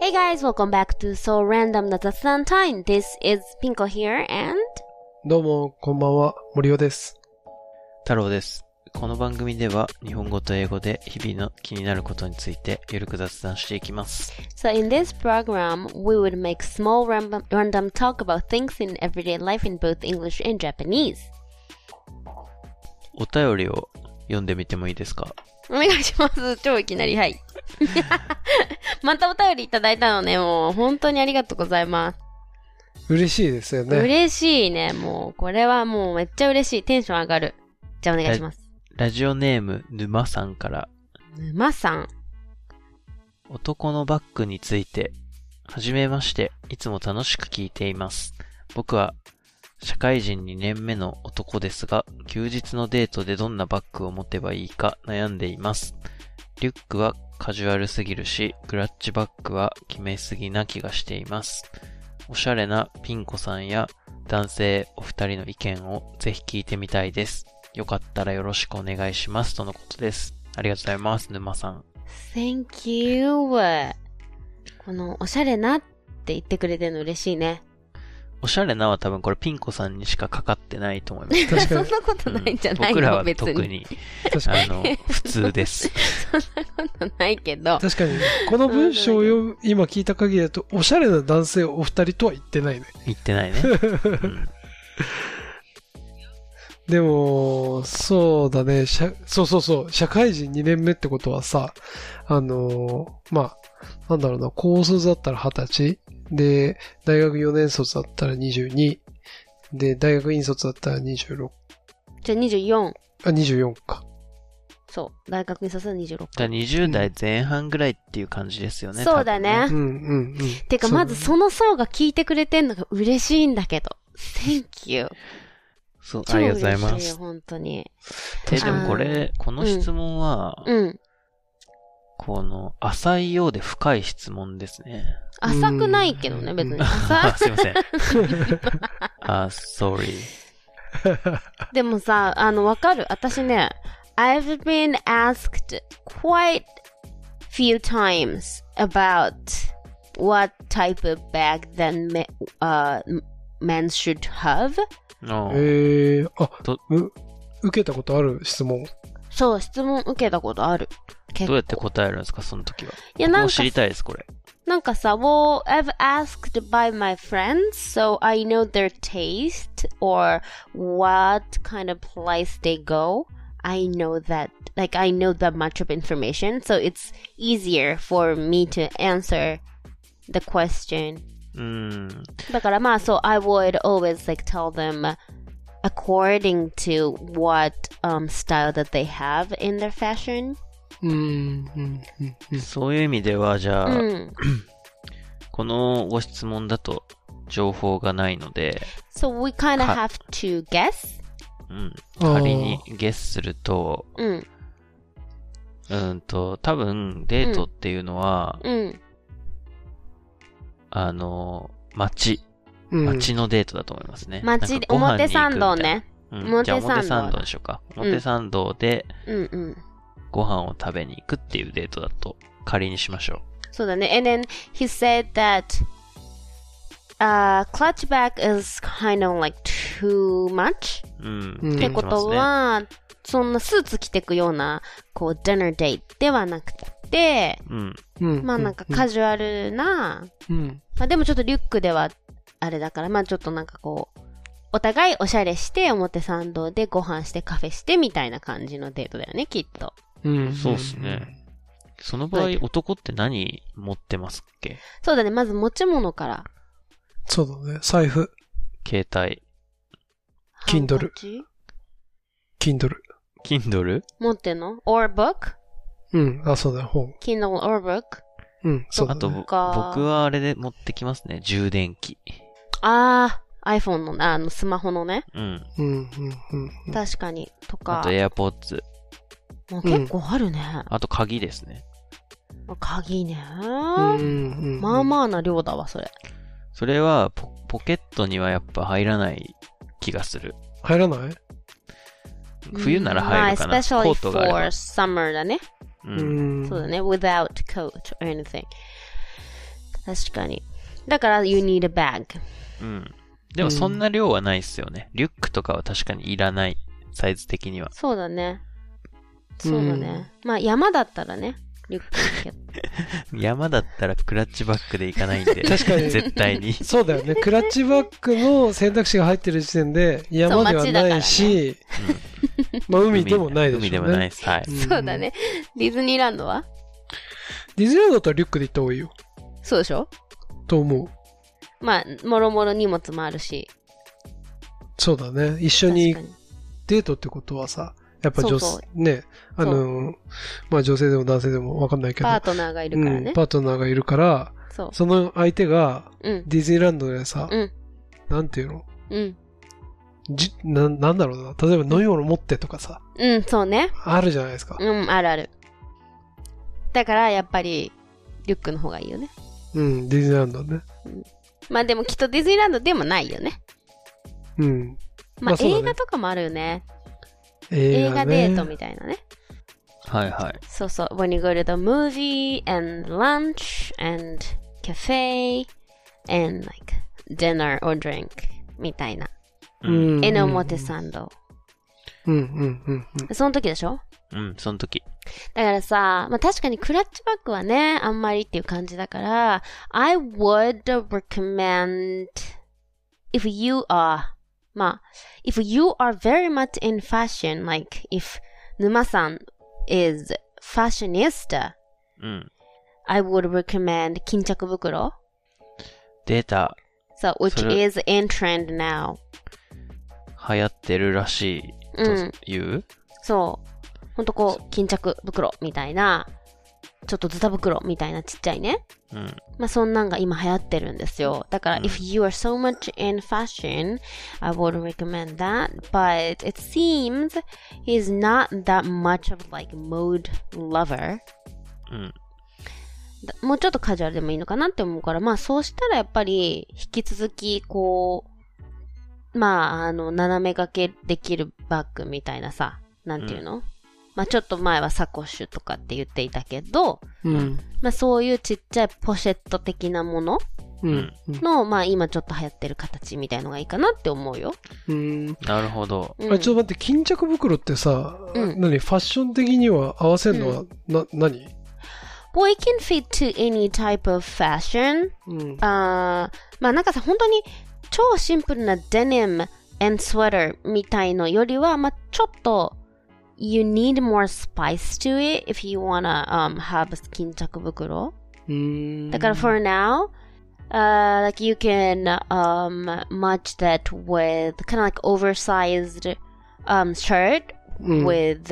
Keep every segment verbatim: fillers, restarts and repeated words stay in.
Hey guys, welcome back to So Random な雑談 Time. This is Pinko here and... どうも、こんばんは、森尾です。 太郎です。この番組では日本語と英語で日々の気になることについてゆるく雑談していきます。 So in this program, we would make small random, random talk about things in everyday life in both English and Japanese. お便りを読んでみてもいいですか？ お願いします。超いきなり、はい。またお便りいただいたのね、もう本当にありがとうございます。 嬉しいですよね。 嬉しいね、もうこれはもうめっちゃ嬉しい。テンション上がる。じゃあお願いします。 ラ, ラジオネーム沼さんから。 沼さん。 男のバッグについて。はじめまして、いつも楽しく聞いています。僕は社会人にねんめの男ですが、休日のデートでどんなバッグを持てばいいか悩んでいます。リュックはカジュアルすぎるし、クラッチバッグは決めすぎな気がしています。おしゃれなピン子さんや男性お二人の意見をぜひ聞いてみたいです。よかったらよろしくお願いしますとのことです。ありがとうございます、沼さん。 Thank you. このおしゃれなって言ってくれてるの嬉しいね。 おしゃれなは多分これピン子さんにしかかかってないと思います。 確かに。 そんなことないんじゃないの、 うん、僕らは別に。 特に、あの、普通です。 そんなことないけど。 確かに、この文章を読む、今聞いた限りだと、おしゃれな男性お二人とは言ってないね。 言ってないね。うん、 でも、そうだね、しゃ、そうそうそう、社会人にねんめってことはさ、あのー、まあ、なんだろうな、高卒だったらはたち、で、大学よねん卒だったらにじゅうに、で、大学院卒だったらにじゅうろく。 じゃあにじゅうよん。 あ、にじゅうよんか。 そう。大学院卒はにじゅうろく。 だにじゅう代前半ぐらいっていう感じですよね。 そうだね。 うんうんうん。 てか、まずその層が聞いてくれてんのが嬉しいんだけど。Thank you. そう、ありがとうございます。 超嬉しいよ、本当に。 え、でもこれ、この質問は、 うん。うんこの、浅いようで深い質問ですね。 浅くないけどね、別に。浅すいません。あ、sorry. でもさ、あの、わかる。私ね、I've been asked quite few times about what type of bag that me, uh, men should have. えー、あ、う、受けたことある質問？ そう、質問受けたことある。 どうやって答えるんですか、その時は。 いや、なんか、 僕も知りたいです、これ。 なんかさ、well, I've asked by my friends, so I know their taste or what kind of place they go. I know that, like, I know that much of information, so it's easier for me to answer the question. うーん。 だからまあ、そう、I would always, like, tell them according to what, um, style that they have in their fashion. うんうんうん、 そういう意味では、じゃあ、 うん、 このご質問だと情報がないので、 So we kind of have to guess? うん。仮にゲスすると、 うん。 うんと、多分デートっていうのは、 うん。 あの、街、街のデートだと思いますね。 街で、表参道ね。 うん、じゃあ表参道でしょうか。表参道で、 うんうん。 ご飯を食べに行くっていうデートだと仮にしましょう。 そうだね。And then he said that uh, clutch bag is kind of like too much? うん。 うん、ってことは、そんなスーツ着てくような、こう、dinner date ではなくて、 うん。 まあなんかカジュアルな、 うん、 まあでもちょっとリュックではあれだから、まあちょっとなんかこう、お互いおしゃれして表参道でご飯してカフェしてみたいな感じのデートだよね、きっと。 うん、そうですね。その場合、男って何持ってますっけ？ そうだね、まず持ち物から。 そうだね、財布。 携帯。 Kindle。Kindle。 Kindle？ 持ってんの？ or book？ うん、あ、そうだよ、本。 Kindle or book？ うん、そうだね。 あと、僕はあれで持ってきますね、充電器。 あー、iPhone の、あの、スマホのね。 うん。 うん、うん、うん。 確かに。とか。 あと、AirPods。 結構あるね、 うん。あと、鍵ですね。 鍵ね、 うんうん。 まあまあな量だわ、それ。 それはポ、ポケットにはやっぱ入らない気がする。 入らない？ 冬なら入るかな。 まあ、especially コートがあれば。 for summer だね。 うん。 そうだね。without coat or anything. 確かに。だから、you need a bag. うん。でもそんな量はないっすよね。リュックとかは確かにいらない。サイズ的には。 そうだね。そうだね。うん、まあ山だったらね、リュックだけど。 山だったらクラッチバッグで行かないんで。 確かに。 絶対に。 そうだよね。クラッチバッグの選択肢が入ってる時点で山ではないし、ね、まあ海でもないでしょうね。 海でもないです。はい。 そうだね。ディズニーランドはディズニーランドだったらリュックで行った方がいいよ。 そうでしょと思う。 まあ、もろもろ荷物もあるし。 そうだね。一緒にデートってことはさ、やっぱ女性、ね、あの、まあ女性でも男性でもわかんないけど。 パートナーがいるからね。 うん、パートナーがいるから、そ, その相手が、ディズニーランドでさ、うん、なんていうのうん。じな、なんだろうな。例えば飲み物持ってとかさ。 うん、そうね。 あるじゃないですか。 うん、あるある。だから、やっぱり、リュックの方がいいよね。 うん、ディズニーランドね。 うん、まあでもきっとディズニーランドでもないよね。 うん。 まあ、まあね、映画とかもあるよね。映画デートみたいなね。 はいはい。 そうそう。When you go to the movie and lunch and cafe and like dinner or drink みたいな。 うん。 エノモテサンド。 うんうんうんうん。 その時でしょ？ うん、その時。 だからさ、まあ確かにクラッチバッグはね、あんまりっていう感じだから、I would recommend if you areまあ、if you are very much in fashion, like if 沼さん is fashionista, うん、 I would recommend 巾着袋。 データ。 So, which is in trend now. 流行ってるらしいという、うん、 そう。ほんとこう、巾着袋みたいな、ちょっとズタ袋みたいなちっちゃいね。 うん、 まあそんなんが今流行ってるんですよ。だから、うん、if you are so much in fashion, I would recommend that. But it seems he's not that much of like mode lover. うん、 もうちょっとカジュアルでもいいのかなって思うから、まあそうしたらやっぱり引き続きこう、まああの斜め掛けできるバッグみたいなさ、なんていうの？うん、まあちょっと前はサコッシュとかって言っていたけど、 うん、 まあそういうちっちゃいポシェット的なものの、 うん、 まあ今ちょっと流行ってる形みたいのがいいかなって思うよ。 うん、 なるほど。 うん、あ、ちょっと待って、巾着袋ってさ、うん、何ファッション的には合わせるのは、うん、な、何 ？Well, it can fit to any type of fashion. うん、 あまあなんかさ、本当に超シンプルなデニム and sweater みたいのよりは、まあちょっとYou need more spice to it if you wanna um, have a 巾着袋。だから for now, uh, like you can um, match that with kind of like oversized um, shirt、 うん、 with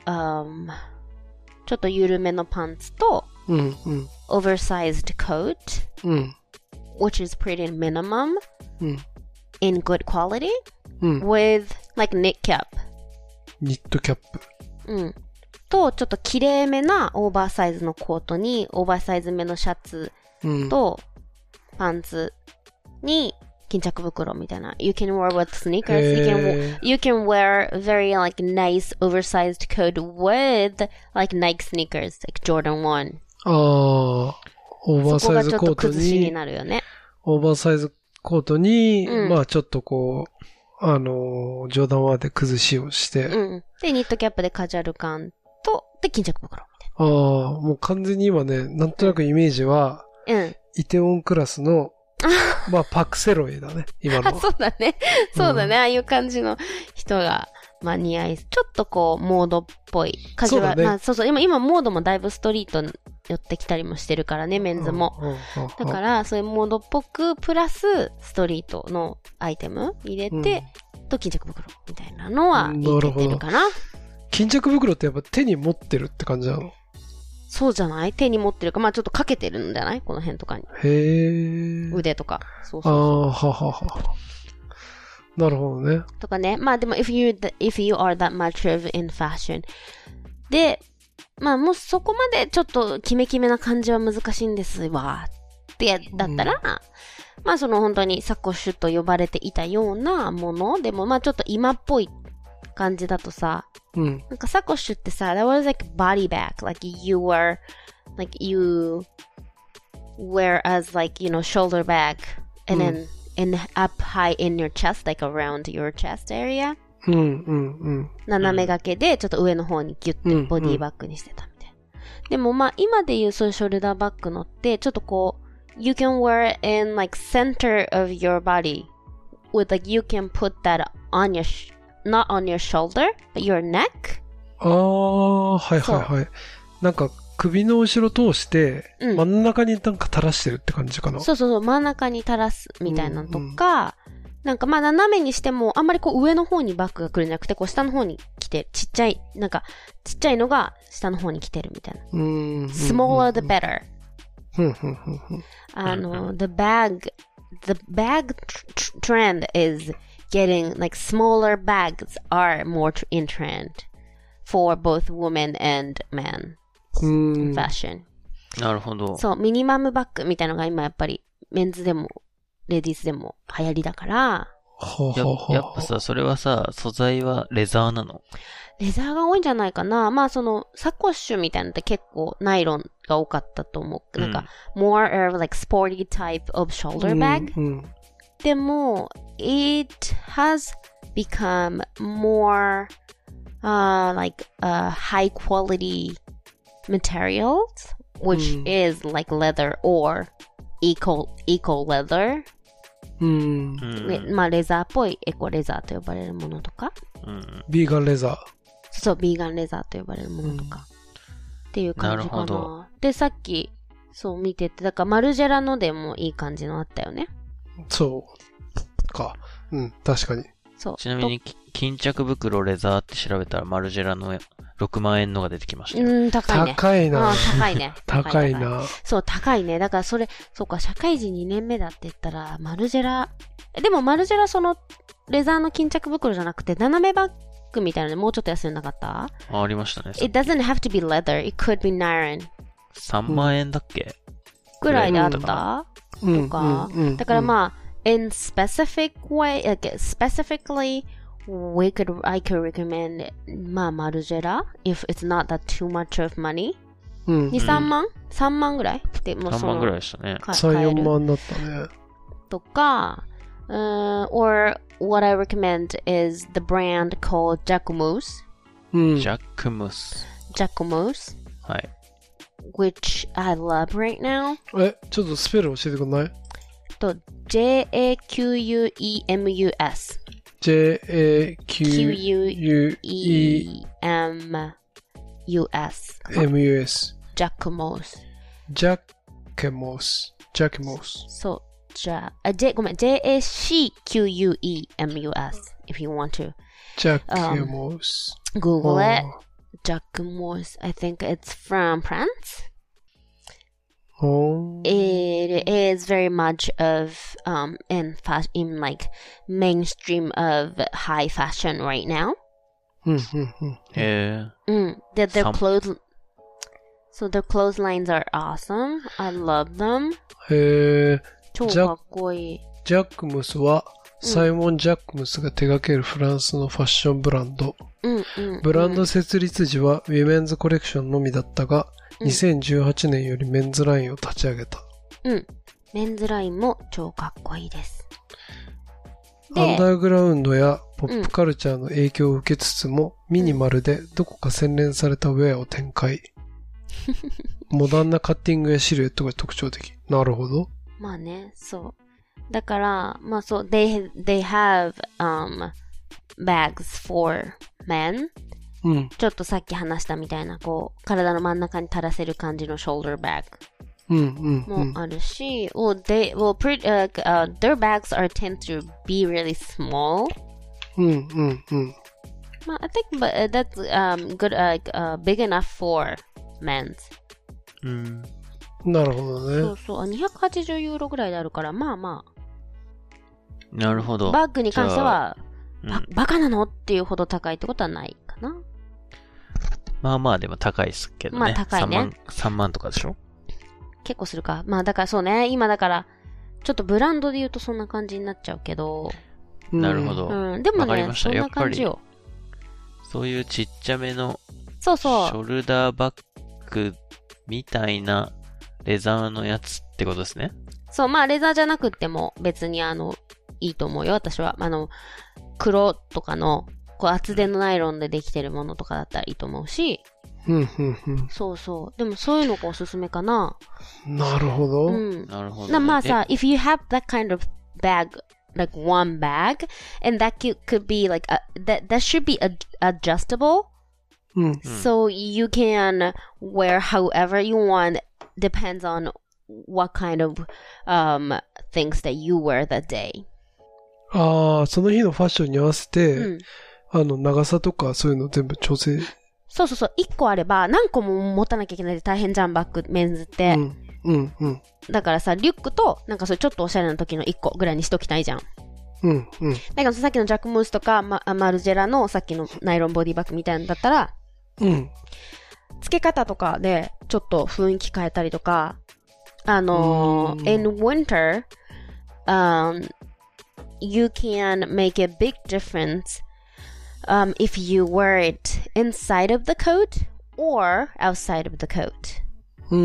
um, ちょっと緩めのパンツと、 うんうん、 oversized coat、 うん、 which is pretty minimum、 うん、 in good quality、 うん、 with like knit cap。 ニットキャップ。 うん。と、ちょっと綺麗めなオーバーサイズのコートに、オーバーサイズめのシャツと、パンツに、巾着袋みたいな。You can wear with sneakers. You can, you can wear very like nice oversized coat with like Nike sneakers, like Jordan one. ああ、オーバーサイズコートに。そこがちょっと崩しになるよね。 オーバーサイズコートに、うん、まあちょっとこう、あの、ジョーダンワンで崩しをして、 うん。で、ニットキャップでカジュアル感と、で、巾着袋みたいな。ああ、もう完全に今ね、なんとなくイメージは、 うん。 イテウォンクラスの、まあ、パクセロイだね、今の。 そうだね。そうだね、うん。ああいう感じの人が、まあ、似合い、ちょっとこう、モードっぽい。カジュアル。そうだね。まあ、そうそう。今、今、モードもだいぶストリートに寄ってきたりもしてるからね、メンズも。 うんうんうん、 だから、そういうモードっぽく、プラス、ストリートのアイテム入れて、うん、と、巾着袋みたいなのは、いけてるかな。 巾着袋ってやっぱ手に持ってるって感じなの？ そうじゃない？手に持ってるか、まあちょっとかけてるんじゃない？この辺とかに。 へー。 腕とか。そうそうそう。ああ、ははは。なるほどね。 とかね。まあでも、if you, if you are that much of in fashion. で、まあもうそこまでちょっとキメキメな感じは難しいんですわ。ってだったら、うん、まあその本当にサコッシュと呼ばれていたようなものでも、まあちょっと今っぽい感じだとさ、 うん、 なんかサコッシュってさ、that was like body bag, like you were, like you whereas like, you know, shoulder bag and then in up high in your chest, like around your chest area. うんうんうん。 斜め掛けでちょっと上の方にギュッてボディバッグにしてたみたいな。でもまあ今で言うそういうショルダーバッグのってちょっとこう you can wear it in like center of your body with like you can put that on your sh- not on your shoulder but your neck. ああ、はいはいはい。なんか首の後ろ通して、真ん中になんか垂らしてるって感じかな。 そうそうそう、真ん中に垂らすみたいなのとか、なんかまあ斜めにしてもあんまりこう上の方にバッグが来るんじゃなくて、こう下の方に来て、ちっちゃい、なんかちっちゃいのが下の方に来てるみたいな。 うん。 smaller the better. ふんふんふんふん。 あの、the bag, the bag trend is getting like smaller bags are more in trend for both women and men. ファッション。 なるほど。 そう、ミニマムバッグみたいなのが今やっぱりメンズでもレディースでも流行りだから。 や, やっぱさ、それはさ、素材はレザーなの？ レザーが多いんじゃないかな。まあそのサコッシュみたいなのって結構ナイロンが多かったと思う。なんか、うん、more of like sporty type of shoulder bag、うんうん、でも it has become more、uh, like、uh, high quality materials, which、うん、is like leather or eco, eco leather、うん、まあレザーっぽいエコレザーと呼ばれるものとか、 うん、ビーガンレザー、 そう、ビーガンレザーと呼ばれるものとか、うん、っていう感じか な, なるほど。でさっきそう見てて、だからマルジェラのでもいい感じのあったよね。 そうか、うん、確かに。 そう。ちなみに巾着袋レザーって調べたらマルジェラのろくまんえんのが出てきましたよ。 うん、高いね。 高いな。 高いね。 高いな。 そう、高いね。だからそれ、そうか、社会人にねんめだって言ったら、マルジェラ、でもマルジェラその、レザーの巾着袋じゃなくて、斜めバッグみたいなのでもうちょっと安いのなかった？ あ、ありましたね。 It doesn't have to be leather. It could be nylon. さんまんえんだっけ？ ぐらいであった、うん、とか、うんうん、だからまあ、in specific way, like specifically, we could, I could recommend まあマルジェラ if it's not that too much of money、うん、に、さんまん ?さん 万ぐらいでもうそのさんまんぐらいでしたね。 さん、よんまんだったね。 とか、uh, or what I recommend is the brand called Jacquemus、 うん、Jacquemus Jacquemus はい、 which I love right now。 え、ちょっとスペル教えてくんない？ と ジェーエーキューユーイーエムユーエスジェーエーキューユーイーエムユーエス エムユーエス Jacquemus Jacquemus Jacquemus そうじゃあ、J、ごめん ジェーエーシーキューユーイーエムユーエス if you want to Jacquemus、um, Google it、oh. Jacquemus I think it's from France、oh. It is very much of um in fashion, in like mainstream of high fashion right now. へえ。 うん。で、their clothes, so their clotheslines are awesome. I love them. へえ。 超かっこいい。 ジャックムスはサイモン・ジャックムスが手掛けるフランスのファッションブランド。 うんうんうん、 ブランド設立時はウィメンズコレクションのみだったが、にせんじゅうはちねんよりメンズラインを立ち上げた。 うん。メンズラインも超かっこいいです。 アンダーグラウンドやポップカルチャーの影響を受けつつも、うん、ミニマルでどこか洗練されたウェアを展開。モダンなカッティングやシルエットが特徴的。なるほど。 まあね、そう。だから、まあそう、they, they have, um, bags for men、うん、ちょっとさっき話したみたいな、こう、体の真ん中に垂らせる感じの shoulder bag、 うんうんうん、 もあるし、well, they, well, pretty, uh, uh, their bags are tend to be really small. うんうんうん。 まあ、I think but, uh, that's, um, good, uh, uh, big enough for men's. うん。 なるほどね。 そうそう、にひゃくはちじゅうユーロぐらいであるから、まあまあ。 なるほど。 バッグに関しては、バ, バカなのっていうほど高いってことはないかな。 まあまあでも高いですけどね。 まあ高いね。 さんまん、さんまんとかでしょ？ 結構するか。まあだからそうね、今だから、ちょっとブランドで言うとそんな感じになっちゃうけど。 なるほど。 うん、でもね、そんな感じよ。 そういうちっちゃめの、 そうそう。 ショルダーバッグみたいなレザーのやつっってことですね。 そう、まあレザーじゃなくっても別にあの、いいと思うよ、私は。あの、黒とかの、こう厚手のナイロンでできてるものとかだったらいいと思うし。 うんうんうん。 そうそう。でもそういうのがおすすめかな。 なるほど。 うん。 なるほど、ね。 なまあさ、if you have that kind of bag, like one bag, and that could, could be like, a, that, that should be ad- adjustable. うん。 So you can wear however you want, depends on what kind of um, things that you wear that day. ああ、その日のファッションに合わせて、 うん、 あの、長さとかそういうの全部調整。 そうそうそう。一個あれば何個も持たなきゃいけないで大変じゃん、バッグ、メンズって。 うん、うん、うん。 だからさ、リュックと、なんかそれちょっとおしゃれな時の一個ぐらいにしときたいじゃん。 うん、うん。 だからさっきのジャックムースとか、ま、マルジェラのさっきのナイロンボディバッグみたいなのだったら、 うん。 付け方とかでちょっと雰囲気変えたりとか、あのー、in winter, um, you can make a big difference um, if you wear it inside of the coat or outside of the coat. うん、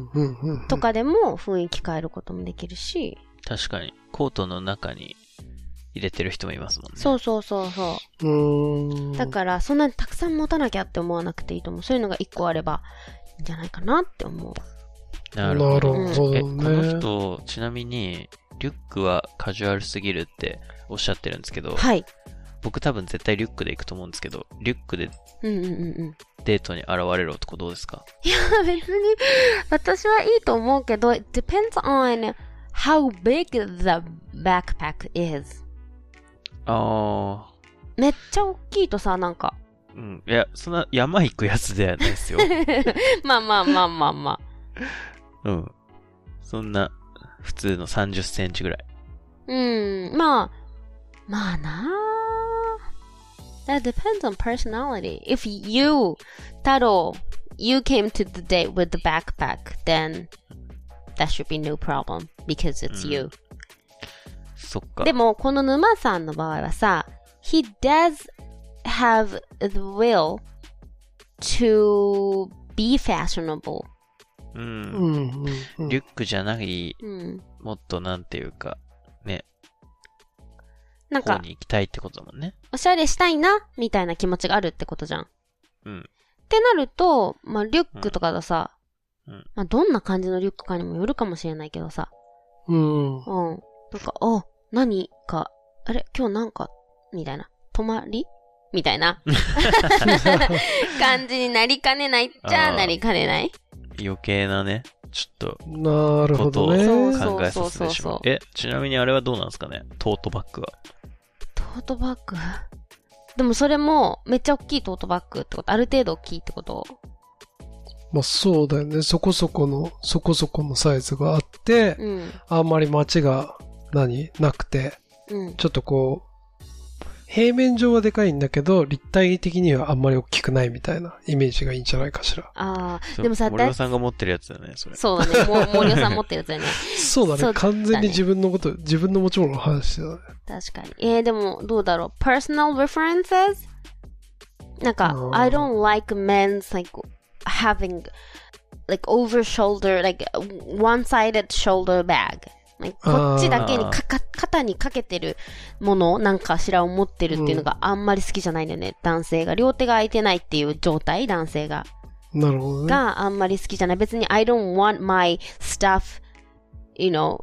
うん、うん。 とかでも雰囲気変えることもできるし。 確かに、コートの中に入れてる人もいますもんね。 そうそうそうそう。 うーん。 だからそんなにたくさん持たなきゃって思わなくていいと思う。そういうのが一個あればいいんじゃないかなって思う。 なるほど。 なるほどね。 え、この人、ちなみに、リュックはカジュアルすぎるっておっしゃってるんですけど、 はい。 僕多分絶対リュックで行くと思うんですけど、リュックでうんうんうんうん。 デートに現れる男どうですか？ いや、別に、私はいいと思うけど、it depends on how big the backpack is. あー。めっちゃ大きいとさ、なんか。 うん。いや、そんな山行くやつではないですよ。 まあまあまあまあまあ。 うん。そんな、普通のさんじゅっセンチぐらい。 うん、まあ、まあなあ。That depends on personality. If you, Taro, you came to the date with the backpack, then that should be no problem because it's you. うん、そっか。 でも、この沼さんの場合はさ、he does have the will to be fashionable. うん。 うんうん、 リュックじゃない、 うん、 もっとなんていうか、ね。 なんか、 方に行きたいってことだもんね。 おしゃれしたいな、みたいな気持ちがあるってことじゃん。 うん。 ってなると、まあ、リュックとかださ、 うんうん、 まあ、どんな感じのリュックかにもよるかもしれないけどさ。 うん。 うん。なんか、あ、何か、あれ今日なんか、みたいな。泊まりみたいな感じになりかねないっちゃなりかねない。 余計なね、ちょっと、 なるほどね。 考えさせてしまう。え、ちなみにあれはどうなんですかね？トートバッグは。 トートバッグでもそれも、めっちゃ大きいトートバッグってこと？ある程度大きいってこと？ まあそうだよね。そこそこの、そこそこのサイズがあって、 うん、 あんまり街が何なくて、 うん、 ちょっとこう、平面上はでかいんだけど、立体的にはあんまり大きくないみたいなイメージがいいんじゃないかしら。 ああ、でもさ、 森尾さんが持ってるやつだよね、それ。 そうだね。も森尾さん持ってるやつだよね。 そうだね。完全に自分のこと、自分の持ち物の話だね。 確かに。えー、でも、どうだろう。personal references? なんか、I don't like men's like having like over shoulder, like one-sided shoulder bag. Like, こっちだけにかか肩にかけてるものなんかしらを持ってるっていうのがあんまり好きじゃないんだよね、うん、男性が両手が空いてないっていう状態男性がなるほどねがあんまり好きじゃない別に I don't want my stuff you know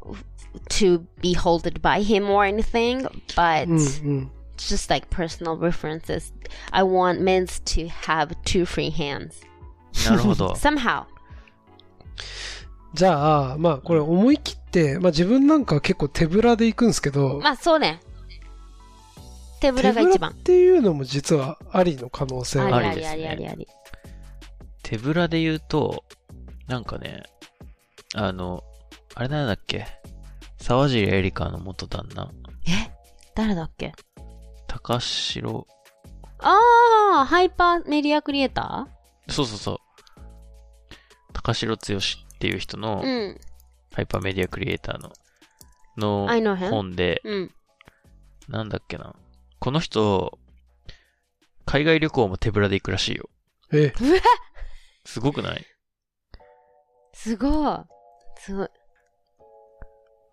to be held by him or anything but、うんうん、just like personal references I want men to have two free hands なるほど somehow じゃあ、まあこれ思い切って、まあ自分なんかは結構手ぶらで行くんですけど。 まあそうね。手ぶらが一番。 手ぶらっていうのも実はありの可能性はありですね。ありありありあり。 手ぶらで言うと、なんかね、あの、あれなんだっけ沢尻エリカの元旦那。 え誰だっけ高城。 ああ、ハイパーメディアクリエイターそうそうそう。高城剛っていう人の、 うん、 ハイパーメディアクリエイターの、の本で、 うん、 なんだっけな。この人、海外旅行も手ぶらで行くらしいよ。 えすごくない？ すごい。すごい。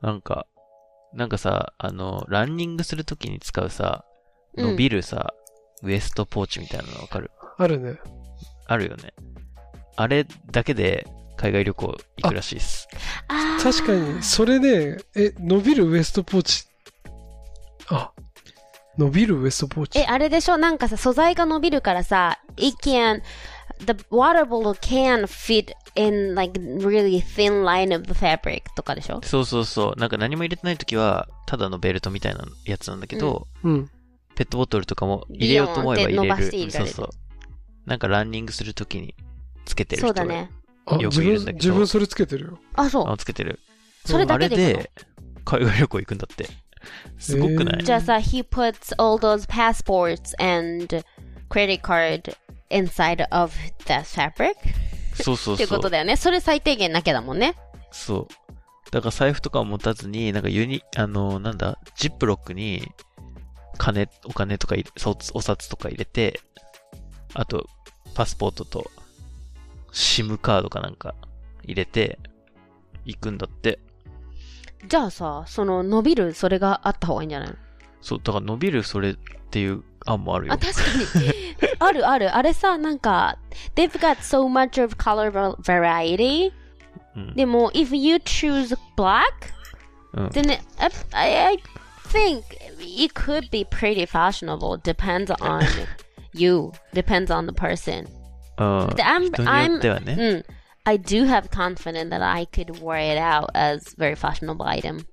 なんか、なんかさ、あの、ランニングするときに使うさ、伸びるさ、うん、ウエストポーチみたいなのわかる？ あるね。 あるよね。あれだけで海外旅行行くらしいです。 確かに、それね、え、伸びるウエストポーチ。あ、伸びるウエストポーチ。 え、あれでしょ？なんかさ、素材が伸びるからさ、it can, the water bottle can fit in like really thin line of the fabric とかでしょ？ そうそうそう。なんか何も入れてないときは、ただのベルトみたいなやつなんだけど、 うん。 ペットボトルとかも入れようと思えば入れる。 伸ばして入れられる。 そうそう。なんかランニングするときにつけてる人がよくいいるんだけど。 自分それつけてるよ。 あ、そう。 あ、つけてる。 それだけで行くの？ あれで海外旅行行くんだって。すごくない？ じゃあさ、he puts all those passports and credit card inside of that fabric? そうそうそう。 っていうことだよね。それ最低限なきゃだもんね。 そう。だから財布とかを持たずに、なんかユニ、あの、なんだ、ジップロックに金、お金とか入れ、お札とか入れて、あと、パスポートと、シムカードかなんか入れて、行くんだって。 じゃあさ、その伸びるそれがあった方がいいんじゃないの？ そう、だから伸びるそれっていう案もあるよ。 あ、確かに。あるある。あれさ、なんか、they've got so much of color variety. うん、でも、if you choose black, うん、then I, I think it could be pretty fashionable. Depends on you. Depends on the person. ああ、I'm, 人によってはね。 うん。I do have confidence that I could wear it out as very fashionable item.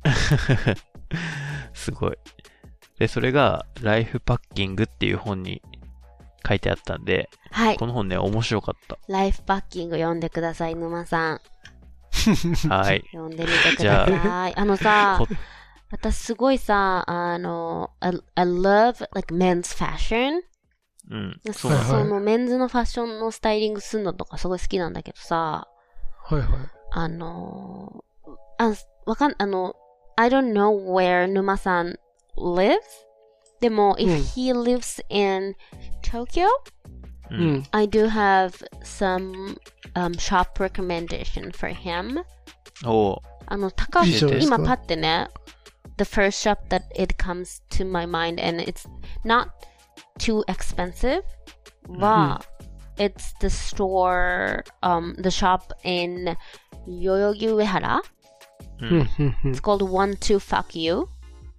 すごい。で、それがライフパッキングっていう本に書いてあったんで、 はい。 この本ね、面白かった。 ライフパッキング読んでください、沼さん。 はい。 読んでみてください。あのさ、私すごいさ、あの、I, I love like men's fashion. うん、 そう、はいはい、そのメンズのファッションのスタイリングするのとかすごい好きなんだけどさ、 はいはい。 あの、あ、わかん、あの、I don't know where 沼さん lives? でも、if、うん、he lives in Tokyo, うん、 I do have some、um, shop recommendation for him. おあの、高橋、今パってね、the first shop that it comes to my mind and it's not too expensive, but mm-hmm. it's the store, um, the shop in Yoyogi Uehara. Mm-hmm. It's called One Two Fuck You.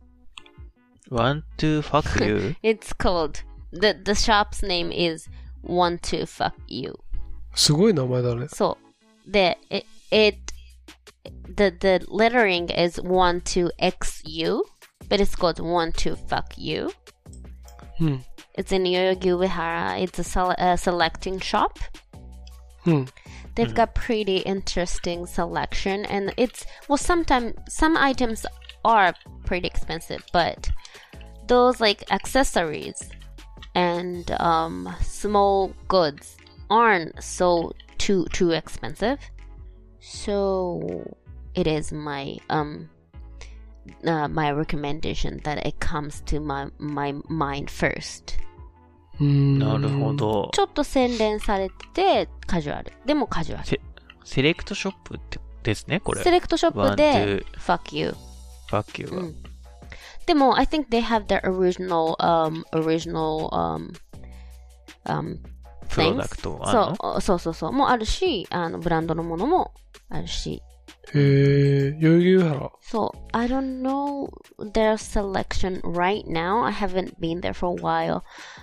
One Two Fuck You? It's called, the, the shop's name is One Two Fuck You. すごい名前だね。 そう。で、it, it, the, the lettering is One Two X U, but it's called One Two Fuck You. Hmm. It's in Yoyogi Uehara. It's a, sele- a selecting shop. Hmm. They've got pretty interesting selection, and it's well. Sometimes some items are pretty expensive, but those like accessories and um, small goods aren't so too too expensive. So it is my um. Uh, my recommendation that it comes to my, my mind first. なるほど。 ちょっと洗練されててカジュアル。でもカジュアル。 セ、セレクトショップってですね、これ。 セレクトショップで Fuck you. Fuck you、うん。 でも I think they have their original um original um um プロダクトあるの？ そうそうそうそうもあるし、あのブランドのものもあるし。 へえ、代々木上原。 そう、I don't know their selection right now. I haven't been there for a while.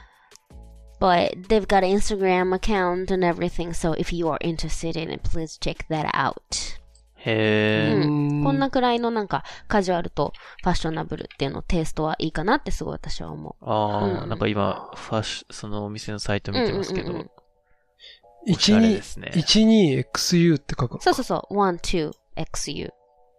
But they've got an Instagram account and everything. So if you are interested in it, please check that out. へー、 うん。こんなくらいのなんかカジュアルとファッショナブルっていうのテイストはいいかなってすごい私は思う。 ああ、 うん、 なんか今、ファッシそのお店のサイト見てますけど。うんうんうん、 いちにー、いちにーエックスユー って書くのか。 そうそうそう。ワンツーエックスユー。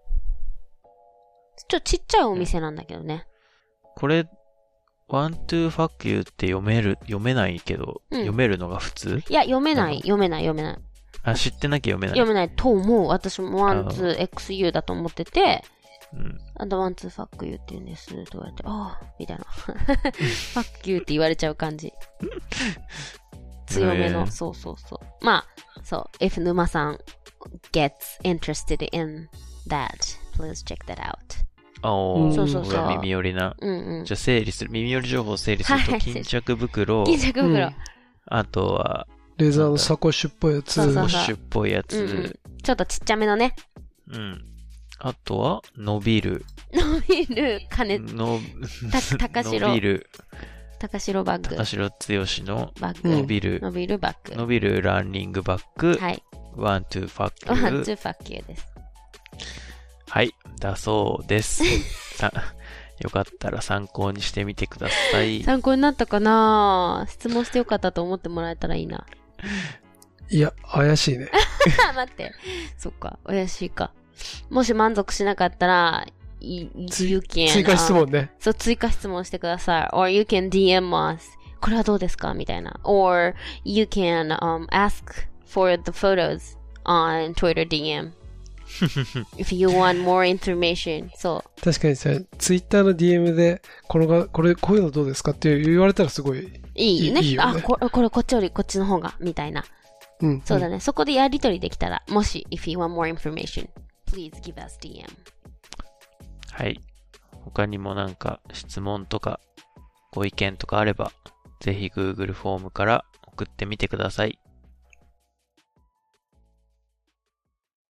ちょっとちっちゃいお店なんだけどね。 これ、ワントゥーファックユーって読める、読めないけど、うん、読めるのが普通？ いや、読めない、読めない、読めない。 あ、知ってなきゃ読めない。 読めないと思う。私もワンツーエックスユーだと思ってて、 うん。 あとワンツーファックユーって言うんです。と言われて、ああ、みたいな。ファックユーって言われちゃう感じ。強めの、そうそうそう。まあ、そう、if 沼さん gets interested in that, please check that out. おー、 そうそうそうこれは耳寄りな。 うんうん。 じゃあ整理する、耳寄り情報を整理すると、 はい巾着袋、 巾着袋。 うんあとは、 レザーのサコッシュっぽいやつ。 そうそうウォッシュっぽいやつ、 うんうん。ちょっとちっちゃめのね。 うん。あとは、伸びる。 伸びる金、 の、 た高城伸びる。 高城バッグ。 高城剛のバッグ。 伸びる。 伸びるバッグ。 伸びるランニングバッグ。 はい。 ワン、ツー、ファッキュワン、 ー。 ツー、ファッキューです。 はい。だそうです。さよかったら参考にしてみてください。 参考になったかな？質問してよかったと思ってもらえたらいいな。 いや、怪しいね。 待って。そっか。怪しいか。もし満足しなかったら、you, you can, 追加質問ね。 そう、追加質問してください。or you can ディーエム us. これはどうですかみたいな。or you can、um, ask for the photos on Twitter ディーエム. If you want more information. そう。 確かにさ、ツイッターの ディーエム で、このが、これ、こういうのどうですかって言われたらすごいいいね。 いいよねあ、これ、これこっちよりこっちの方が、みたいな。 うん。 そうだね。そこでやりとりできたら、もし、if you want more information, please give us ディーエム. はい。他にもなんか質問とかご意見とかあれば、ぜひ Google フォームから送ってみてください。